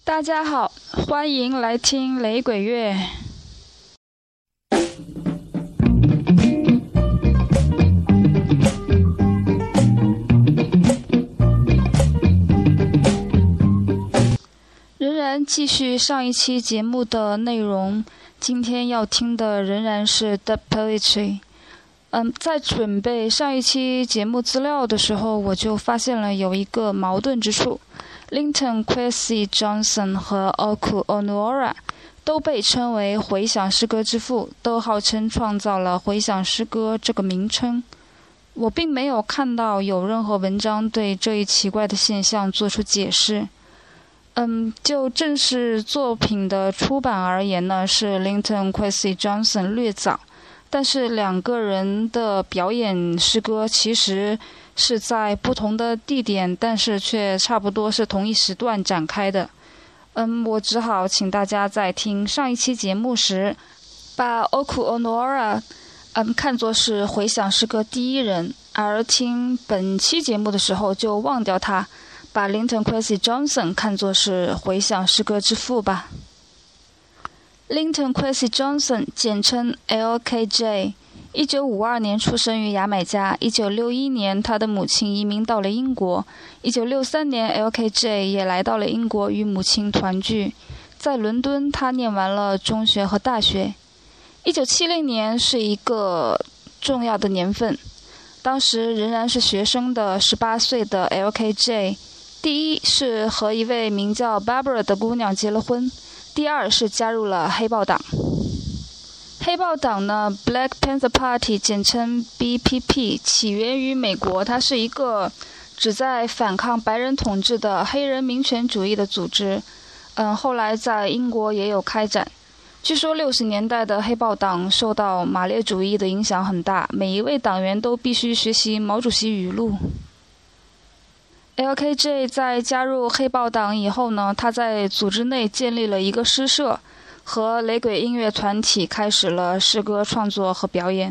大家好，欢迎来听雷鬼乐。仍然继续上一期节目的内容，今天要听的仍然是 The Poetry。在准备上一期节目资料的时候，我就发现了有一个矛盾之处。Linton Kwesi Johnson 和 Oku Onuora 都被称为回响诗歌之父，都号称创造了回响诗歌这个名称。我并没有看到有任何文章对这一奇怪的现象做出解释。就正式作品的出版而言呢，是 Linton Kwesi Johnson 略早，但是两个人的表演诗歌其实是在不同的地点，但是却差不多是同一时段展开的。我只好请大家在听上一期节目时，把 Oku Onuora看作是回响诗歌第一人，而听本期节目的时候就忘掉他，把 Linton Kwesi Johnson 看作是回响诗歌之父吧。Linton Kwesi Johnson 简称 LKJ， 1952年出生于牙买加，1961年他的母亲移民到了英国，1963年 LKJ 也来到了英国与母亲团聚。在伦敦他念完了中学和大学。1970年是一个重要的年份，当时仍然是学生的18岁的 LKJ， 第一是和一位名叫 Barbara 的姑娘结了婚，第二是加入了黑豹党。黑豹党呢 Black Panther Party 简称 BPP， 起源于美国，它是一个旨在反抗白人统治的黑人民权主义的组织。后来在英国也有开展。据说60年代的黑豹党受到马列主义的影响很大，每一位党员都必须学习毛主席语录。LKJ 在加入黑豹党以后呢，他在组织内建立了一个诗社，和雷鬼音乐团体开始了诗歌创作和表演。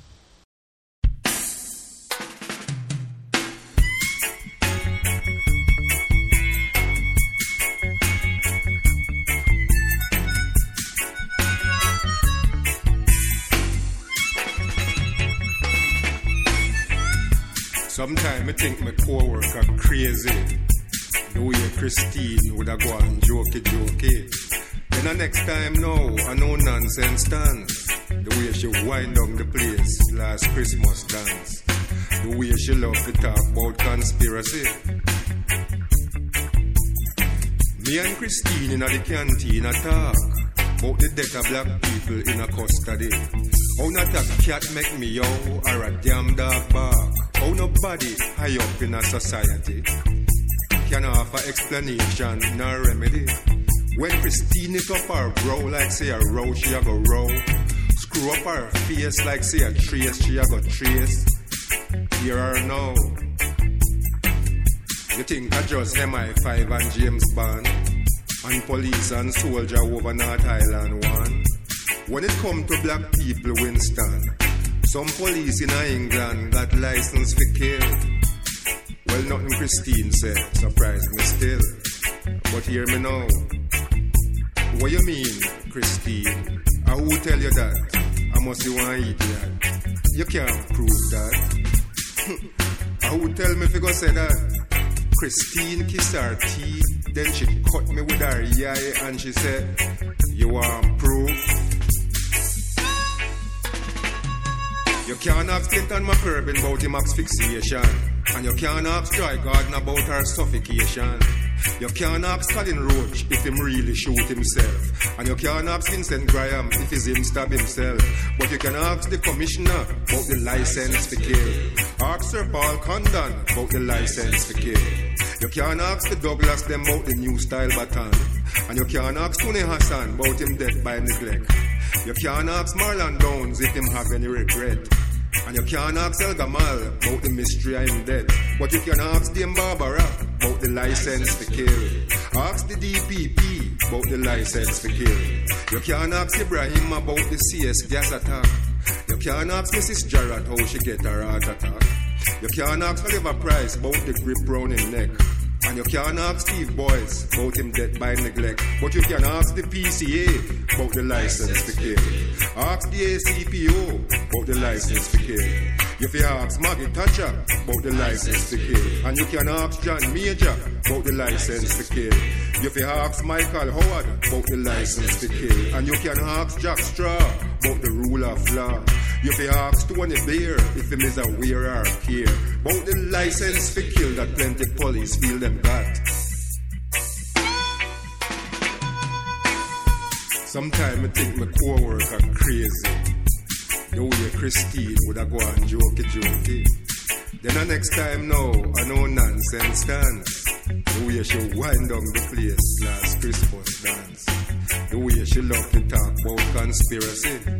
Sometimes I think my co-worker crazy. The way Christine would have gone jokey. Then the next time now, a no nonsense dance. The way she wind down the place last Christmas dance. The way she love to talk about conspiracy. Me and Christine in the canteen a talk about the death of black people in a custody. How not a cat make me yo or a damn dog bark. How nobody high up in a society can offer explanation nor remedy. When Christine it up her brow like say a row she a go row. Screw up her face like say a trace she a go trace. Hear her now. You think I just MI5 and James Bond and police and soldier over North Island one? When it come to black people, Winston, some police in England got license for kill. Well, nothing Christine said surprised me still. But hear me now. What you mean, Christine? Who tell you that? I must be one idiot. You can't prove that. Who tell me if you go say that? Christine kissed her teeth, then she cut me with her eye and she said, you want proof? You can't ask Clinton McCurbin about him asphyxiation, and you can't ask Joy Gordon about her suffocation. You can't ask Colin Roach if him really shoot himself, and you can't ask Vincent Graham if it's him stab himself. But you can ask the commissioner about the license for kill. Ask Sir Paul Condon about the license for kill. You can't ask the Douglas them about the new style baton, and you can't ask Tony Hassan about him death by neglect. You can't ask Marlon Downs if him have any regret, and you can't ask El Gamal about the mystery of him death. But you can ask Dame Barbara about the license for kill. Ask the DPP about the license for kill. You can't ask Ibrahim about the CS gas attack. You can't ask Mrs. Jarrett how she get her heart attack. You can't ask Oliver Price about the grip round him neck. And you can't ask Steve Boyce about him death by neglect. But you can ask the PCA about the license to kill. Ask the ACPO about the license to kill. You can ask Maggie Thatcher about the license to kill. And you can ask John Major about the license to kill. You can ask Michael Howard about the license to kill. And you can ask Jack Straw about the rule of law. You can ask Tony Blair if him is aware or care about the license to kill that plenty police feel them got. Sometimes I think my co-worker crazy. The way Christine would have gone jokey. Then the next time now, I know nonsense dance. The way she wind down the place last Christmas dance. The way she love to talk about conspiracy.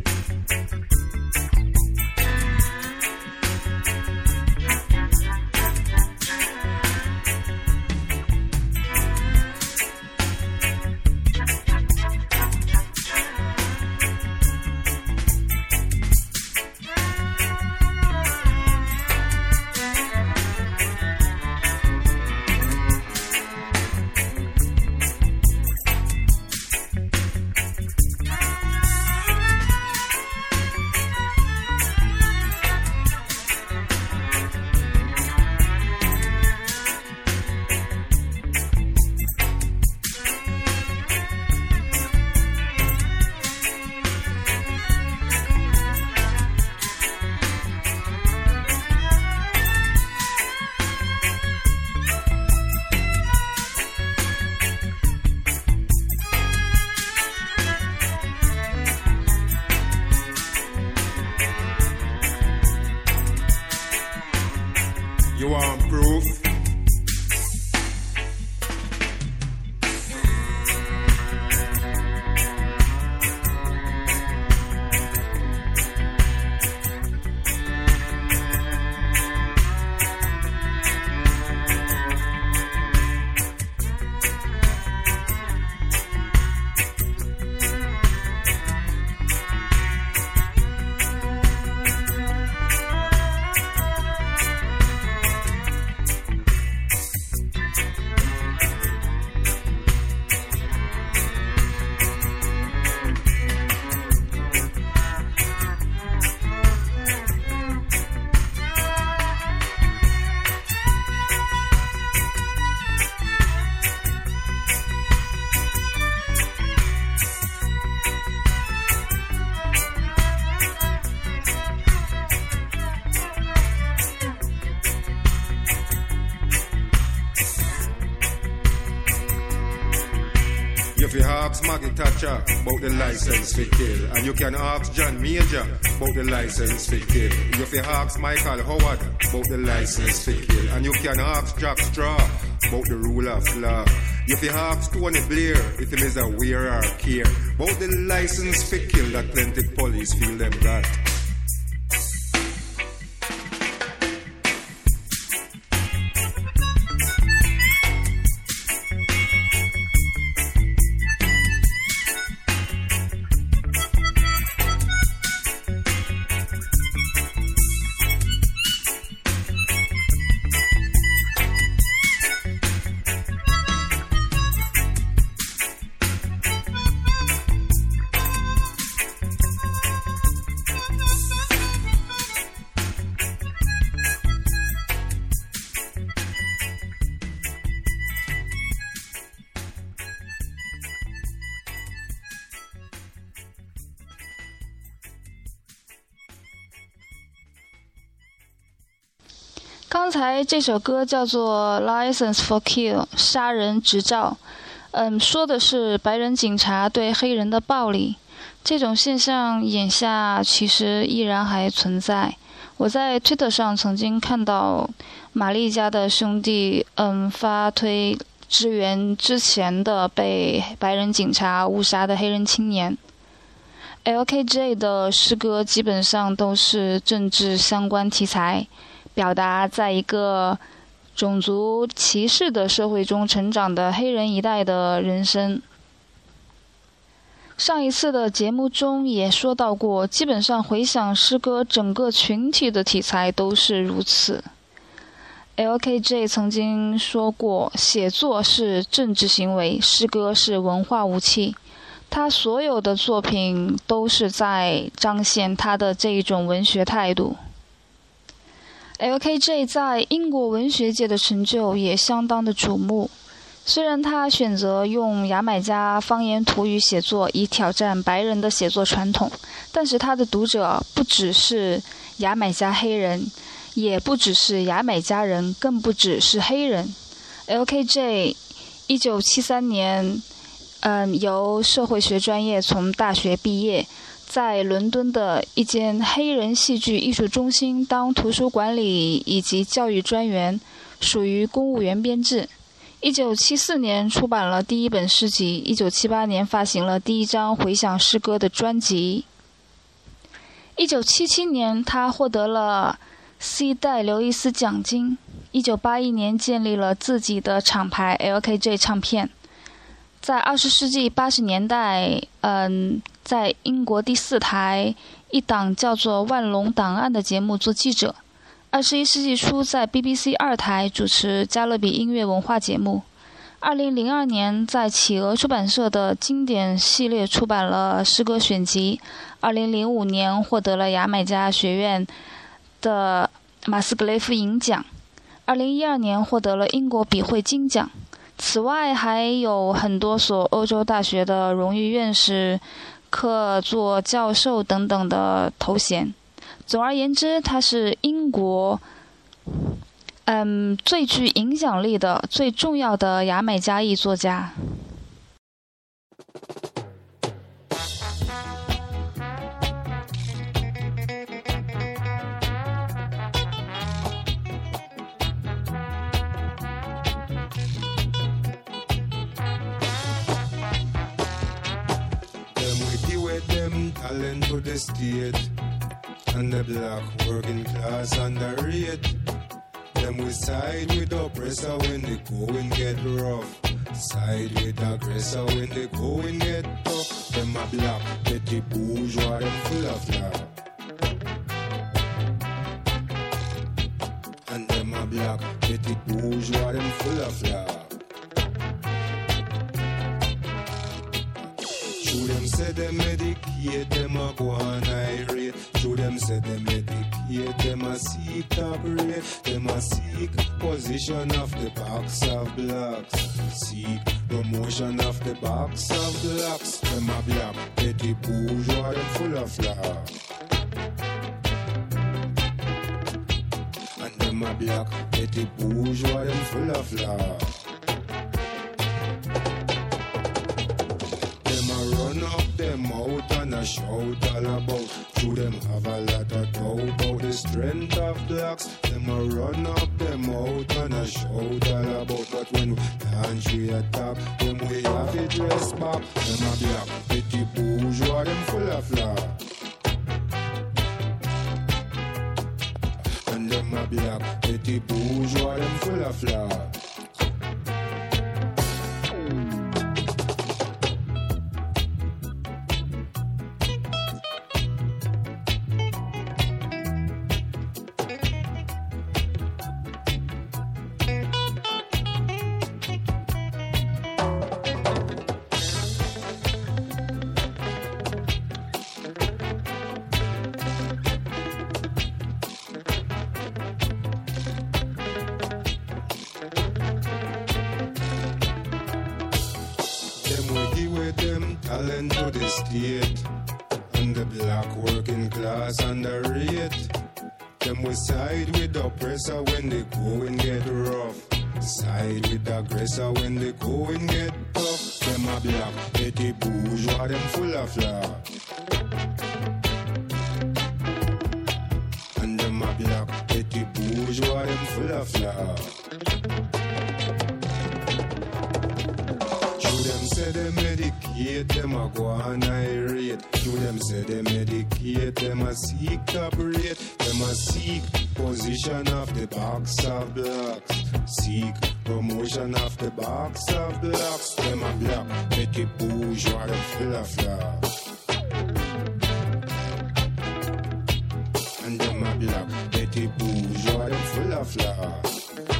You want proof? You can ask Maggie Thatcher about the license to kill. And you can ask John Major about the license to kill. You can ask Michael Howard about the license to kill. And you can ask Jack Straw about the rule of law. You can ask Tony Blair if he is aware or care about the license to kill that plenty police feel them got. 刚才这首歌叫做 License for Kill 杀人执照，说的是白人警察对黑人的暴力。这种现象眼下其实依然还存在。我在 Twitter 上曾经看到玛丽家的兄弟发推支援之前的被白人警察误杀的黑人青年。LKJ 的诗歌基本上都是政治相关题材，表达在一个种族歧视的社会中成长的黑人一代的人生。上一次的节目中也说到过，基本上回想诗歌整个群体的题材都是如此。 LKJ 曾经说过，写作是政治行为，诗歌是文化武器。他所有的作品都是在彰显他的这一种文学态度。LKJ 在英国文学界的成就也相当的瞩目。虽然他选择用牙买加方言土语写作，以挑战白人的写作传统，但是他的读者不只是牙买加黑人，也不只是牙买加人，更不只是黑人。LKJ 1973年由社会学专业从大学毕业，在伦敦的一间黑人戏剧艺术中心当图书管理以及教育专员，属于公务员编制。1974年出版了第一本诗集，1978年发行了第一张回响诗歌的专辑。1977年他获得了 C 代刘易斯奖金。1981年建立了自己的厂牌 LKJ 唱片。在20世纪80年代，在英国第4台一档叫做《万隆档案》的节目做记者。21世纪初在 BBC 2台主持加勒比音乐文化节目。2002年在企鹅出版社的经典系列出版了诗歌选集。2005年获得了牙买加学院的马斯格雷夫银奖。2012年获得了英国笔会金奖。此外还有很多所欧洲大学的荣誉院士、客座教授等等的头衔。总而言之，他是英国最具影响力的、最重要的牙买加裔作家。 Talent to the state, and the black working class underrate. Them we side with oppressor when the going get rough. Side with aggressor when the going get tough. Them a black petty bourgeois, them full of love. And them a black petty bourgeois, them full of love. Show them say them medicate, them a go on irate. Show them say them medicate, them a seek top rate. Them a seek position of the box of blacks. Seek promotion of the box of blacks. Them a black petty bourgeois, them full of love. And them a black petty bourgeois, them full of love. Them out and a shout all about. Through them have a lot of doubt about the strength of blacks. Them a run up them out and a shout all about. But when we launch we attack, them we have it dress back. Them a black petty bourgeois, them full of love. And them a black petty bourgeois, them full of love. Talent to the state, and the black working class underrate. Them we side with oppressor when they going get rough. Side with aggressor when they going get tough. Them a black petty bourgeois, them full of love. And them a black petty bourgeois, them full of love. Them say they medicate, them a go on irate. To them say they medicate, them a seek top rate. Them a seek position of the box of blacks. Seek promotion of the box of blacks. Them a black petty bourgeois, them full of love. And them a black petty bourgeois, them full of love.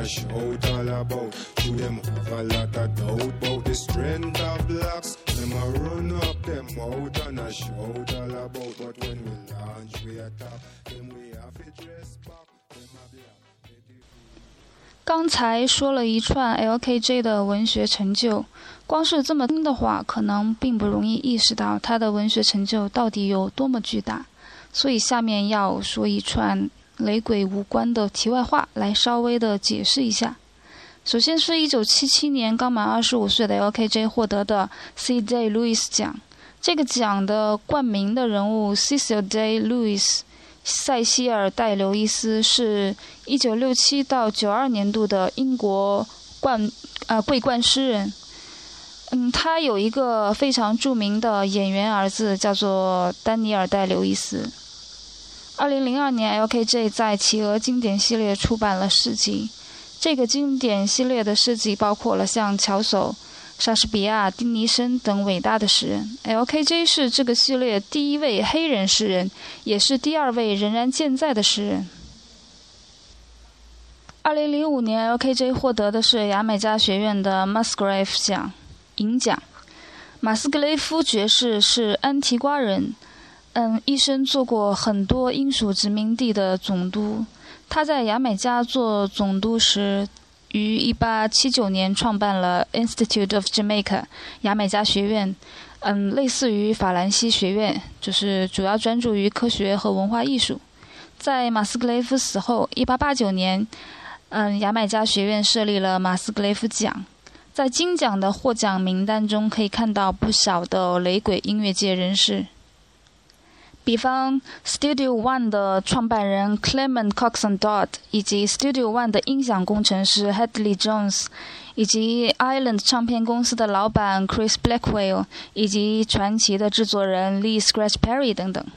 shout all about. To them have a lot of doubt about the strength of blacks. Them a run up them out and a shout all about. But when we launch we attack, them we have to dress back. Them a black. 刚才说了一串 LKJ 的文学成就，光是这么听的话，可能并不容易意识到他的文学成就到底有多么巨大。所以下面要说一串雷鬼无关的题外话，来稍微的解释一下。首先是1977年刚满25岁的 LKJ 获得的 C. Day Lewis 奖，这个奖的冠名的人物 Cecil Day Lewis 塞西尔·戴·刘易斯是1967到92年度的英国桂冠诗人。他有一个非常著名的演员儿子，叫做丹尼尔·戴·刘易斯。2002年 LKJ 在企鹅经典系列出版了诗集，这个经典系列的诗集包括了像乔叟、莎士比亚、丁尼生等伟大的诗人。LKJ 是这个系列第一位黑人诗人，也是第二位仍然健在的诗人。2005年 LKJ 获得的是牙买加学院的 Musgrave 奖银奖。马斯格雷夫爵士是安提瓜人，一生做过很多英属殖民地的总督。他在牙买加做总督时，于1879年创办了 Institute of Jamaica 牙买加学院，类似于法兰西学院，就是主要专注于科学和文化艺术。在马斯格雷夫死后，1889年，牙买加学院设立了马斯格雷夫奖。在金奖的获奖名单中，可以看到不少的雷鬼音乐界人士。比方 Studio One 的创办人 Clement Coxon Dodd， 以及 Studio One 的音响工程师 Hadley Jones， 以及 Island 唱片公司的老板 Chris Blackwell， 以及传奇的制作人 Lee Scratch Perry 等等。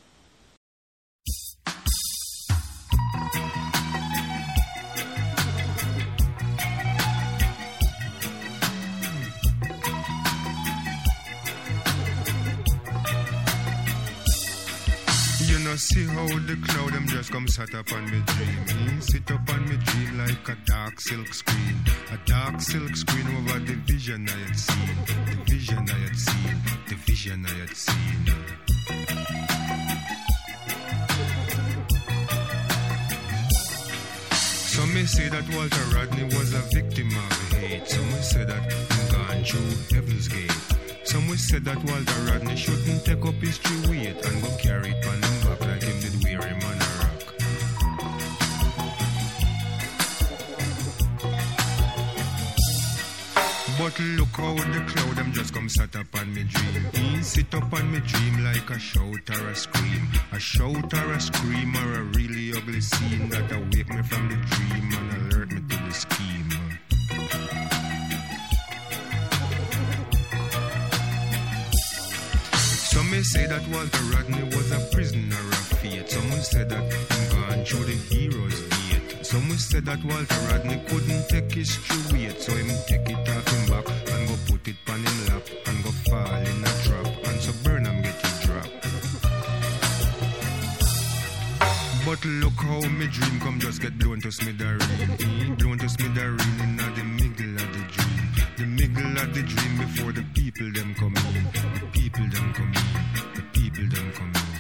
See how the cloud them just come sat up on me dream. Sit up on me dream like a dark silk screen. A dark silk screen over the vision I had seen. The vision I had seen. The vision I had seen. Some may say that Walter Rodney was a victim of hate. Some may say that he gone through Heaven's Gate. Some will say that Walter Rodney shouldn't take up his true weight and go carry it on him back like him did wear him on a rock. But look how the cloud them just come sat up on me dream. He sit up on me dream like a shout or a scream. A shout or a scream or a really ugly scene that awake me from the dream and alert me to the scheme. Some may say that Walter Rodney was a prisoner of fate. Some will say that he gone through the hero's gate. Some will say that Walter Rodney couldn't take his true weight, so him take it off him back and go put it on him lap and go fall in a trap, and so Burnham get it dropped. But look how me dream come just get blown to smithereen. Blown to smithereen in the middle of the dream. The middle of the dream before the people them come in. The people them come in. The people them come in.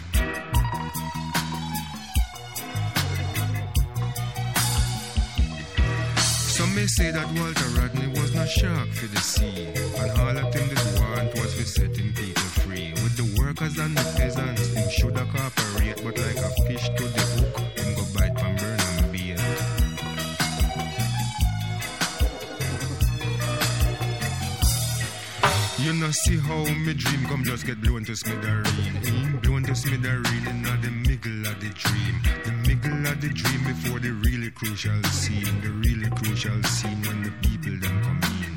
Some may say that Walter Rodney was not shark for the sea, and all that him did want was for setting people free. With the workers and the peasants, him shoulda cooperate, but like a fish to the hook, him go bite from Burnham bait. You know see how me dream come just get blown to smithereen. Blown to smithereen in the middle of the dream. The middle of the dream before the really crucial scene. The really crucial scene when the people them come in.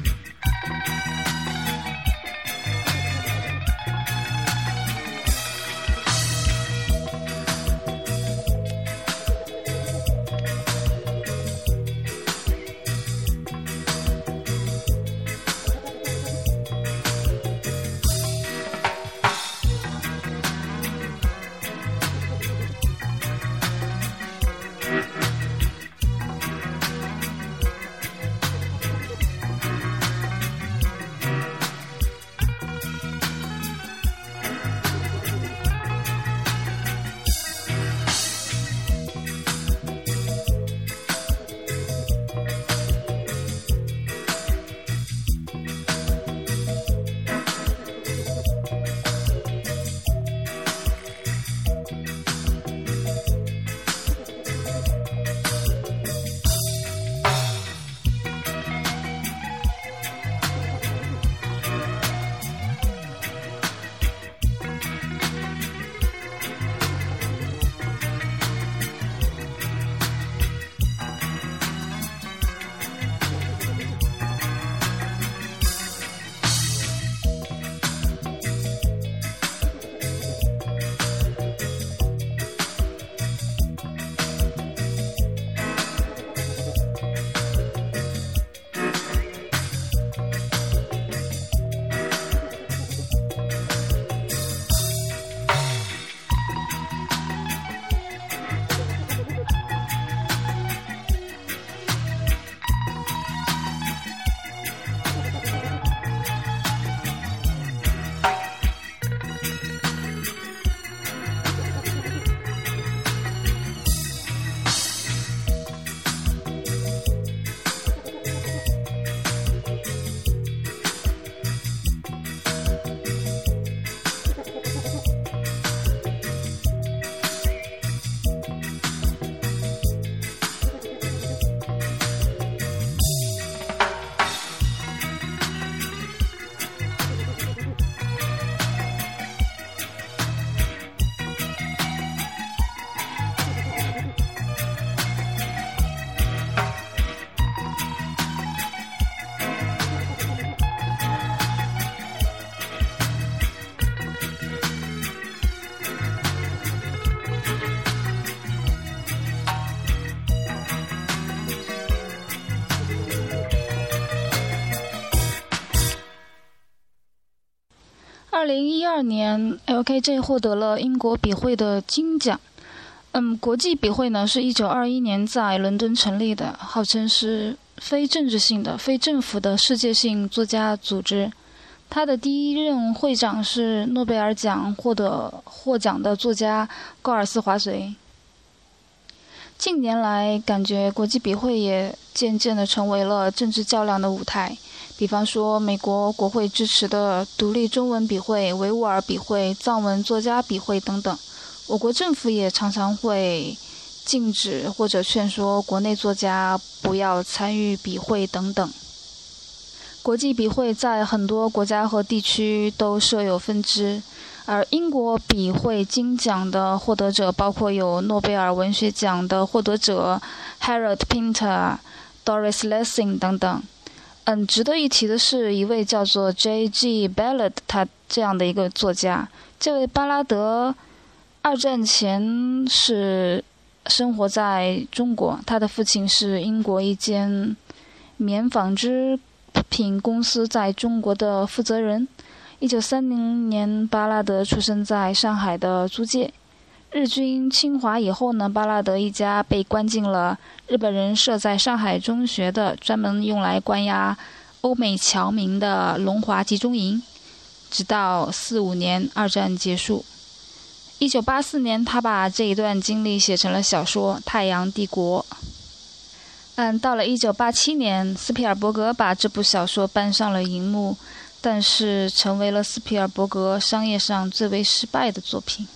2012年 LKJ 获得了英国笔会的金奖。国际笔会呢是1921年在伦敦成立的，号称是非政治性的、非政府的世界性作家组织。他的第一任会长是诺贝尔奖获奖的作家高尔斯华绥。近年来，感觉国际笔会也渐渐地成为了政治较量的舞台。比方说，美国国会支持的独立中文笔会、维吾尔笔会、藏文作家笔会等等。我国政府也常常会禁止或者劝说国内作家不要参与笔会等等。国际笔会在很多国家和地区都设有分支，而英国笔会金奖的获得者包括有诺贝尔文学奖的获得者 Harold Pinter、Doris Lessing 等等。值得一提的是一位叫做 J.G. Ballard 他这样的一个作家。这位巴拉德二战前是生活在中国，他的父亲是英国一间棉纺织品公司在中国的负责人。1930年，巴拉德出生在上海的租界。日军侵华以后呢，巴拉德一家被关进了日本人设在上海中学的专门用来关押欧美侨民的龙华集中营，直到45年二战结束。1984年，他把这一段经历写成了小说《太阳帝国》。到了1987年，斯皮尔伯格把这部小说搬上了荧幕，但是成为了斯皮尔伯格商业上最为失败的作品。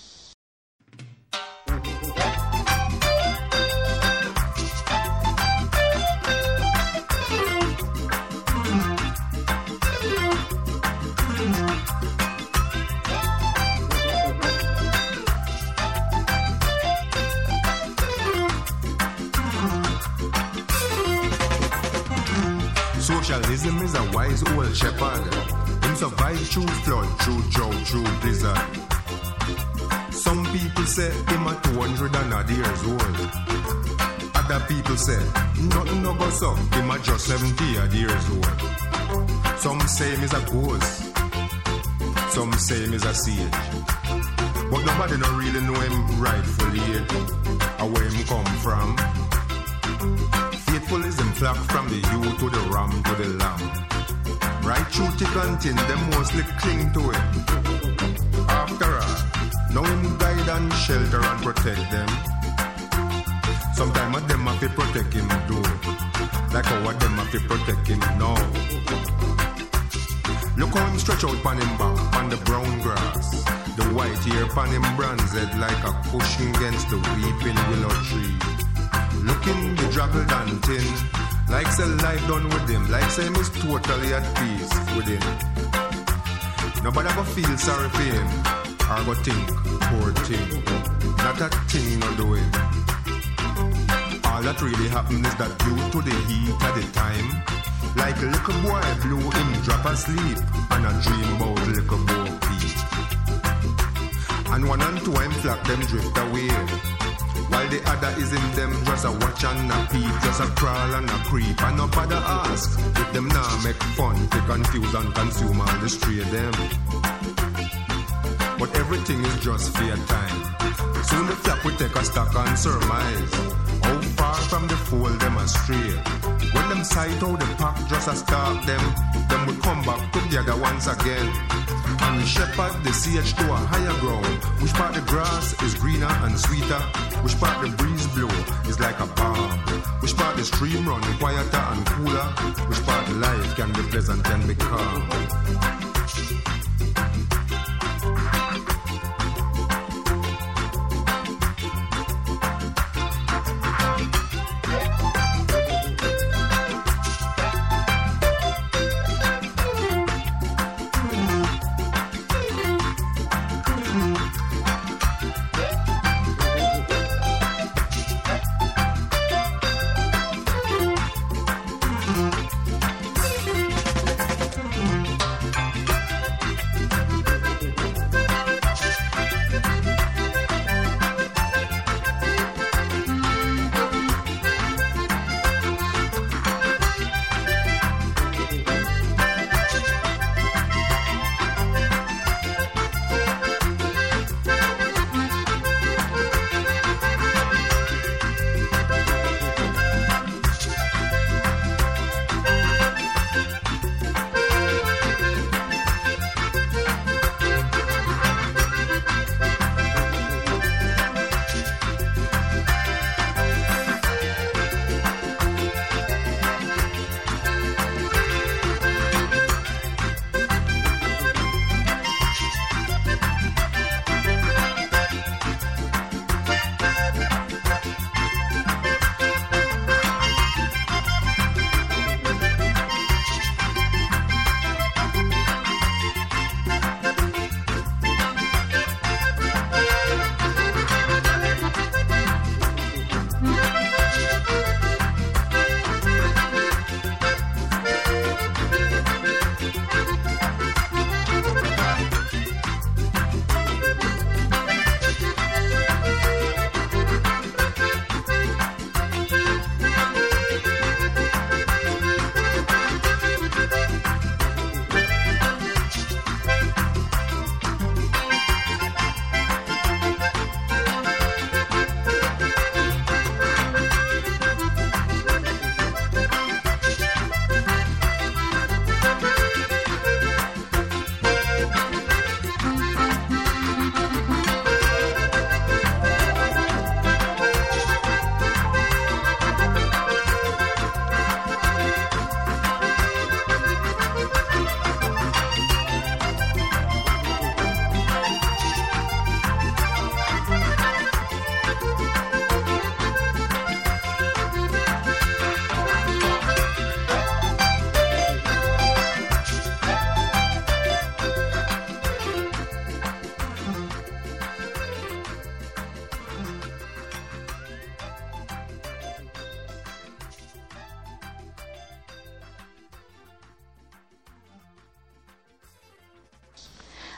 Socialism is a wise old shepherd. Him survive through flood, through drought, through blizzard. Some people say him a 200 years old. Other people say nothing no go so. Him a just 70 years old. Some say him is a ghost. Some say him is a sage. But nobody no really know him rightfully or where him come from. Faithful is him flock from the ewe to the ram to the lamb. Right through thick and thin, them mostly cling to it. After all, now him guide and shelter and protect them. Sometimes them have to protect him too, like how them have to protect him now. Look how him stretch out on him back, on the brown grass. The white hair on him bronze head like a cushion against the weeping willow tree. Looking bedraggled and thin, like say life done with him, like say him is totally at peace with him. Nobody go feel sorry for him, or go think, poor thing. Not a thing he no doing. All that really happened is that due to the heat at the time, like a little boy blew him drop asleep, and a dream about little Bo Peep. And one and two him flock them drift away, while the other is in them just a watch and a peep, just a crawl and a creep, and nobody ask if them now make fun, to confuse and consume and destroy them. But everything is just fair time. Soon the flock will take a stock and surmise how far from the fold them astray. When them sight how the pack just a stalk them will come back together once again, and shepherd the sage to a higher ground. Which part the grass is greener and sweeter, which part the breeze blow is like a balm, which part the stream run quieter and cooler, which part life can be pleasant and be calm.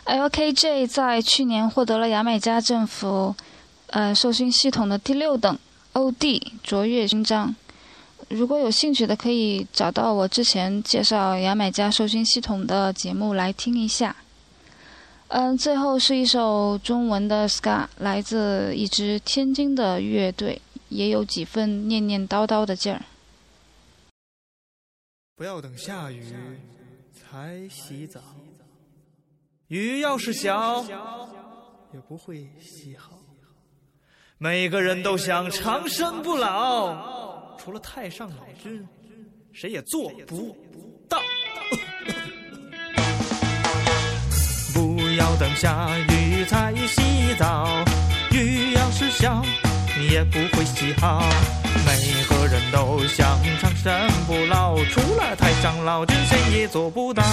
LKJ 在去年获得了牙买加政府受勋系统的第6等 OD 卓越勋章。如果有兴趣的，可以找到我之前介绍牙买加受勋系统的节目来听一下。最后是一首中文的 ska， 来自一支天津的乐队，也有几分念念叨叨的劲儿。 不要等下雨才洗澡，雨要是小也不会洗好。每个人都想长生不老，除了太上老君，谁也做不到。不要等下雨才洗澡，雨要是小也不会洗好。每个人都想长生不老，除了太上老君，谁也做不到。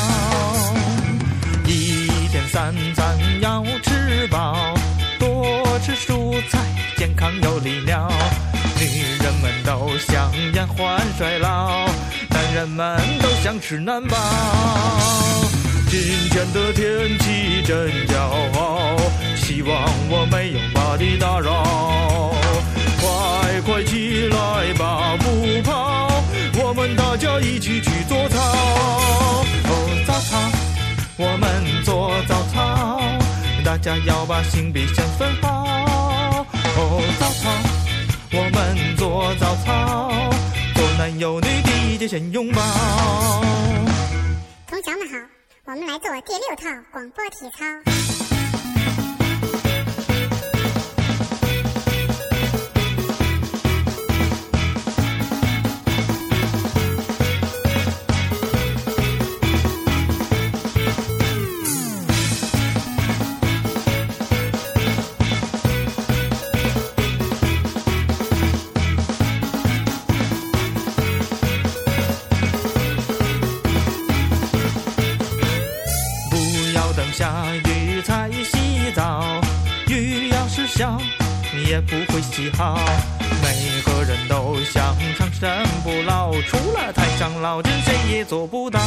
一天3餐要吃饱，多吃蔬菜，健康有力量。女人们都想延缓衰老，男人们都想吃难饱。今天的天气真骄傲，希望我没有把你打扰。快快起来吧，不跑，我们大家一起去做操。哦，早操，我们做早操，大家要把性别先分好。哦，早操，我们做早操，做男有女，第一节先拥抱。 同学们好，我们来做第6套广播体操。 下雨才洗澡，雨要是小也不会洗好。每个人都想长生不老，除了太上老君，谁也做不到。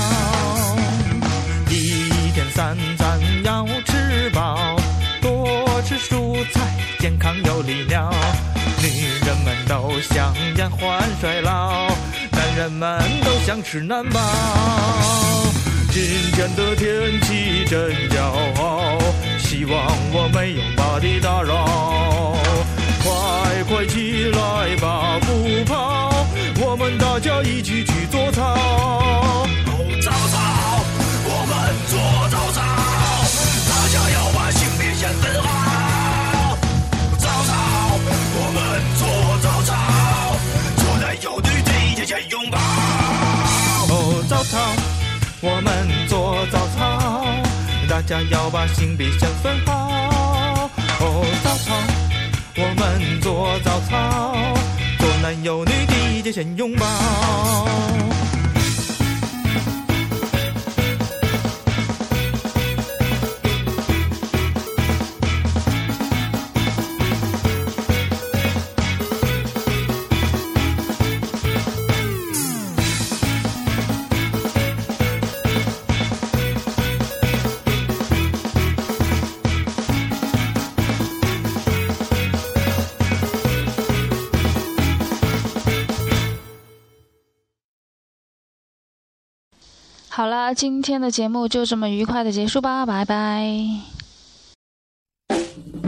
一天3餐要吃饱，多吃蔬菜，健康有力量。女人们都想延缓衰老，男人们都想吃难饱。今天的天气真骄傲，希望我没有把你打扰。快快起来吧，不跑，我们大家一起去做操。哦，早操，我们做早操，大家要把性别先分好。早操，我们做早操，做男有女，第一节先拥抱。哦，早操，我们做早操，大家要把性别先分好。哦，早操，我们做早操，做男有女，第一节先拥抱。 好了，今天的节目就这么愉快的结束吧，拜拜。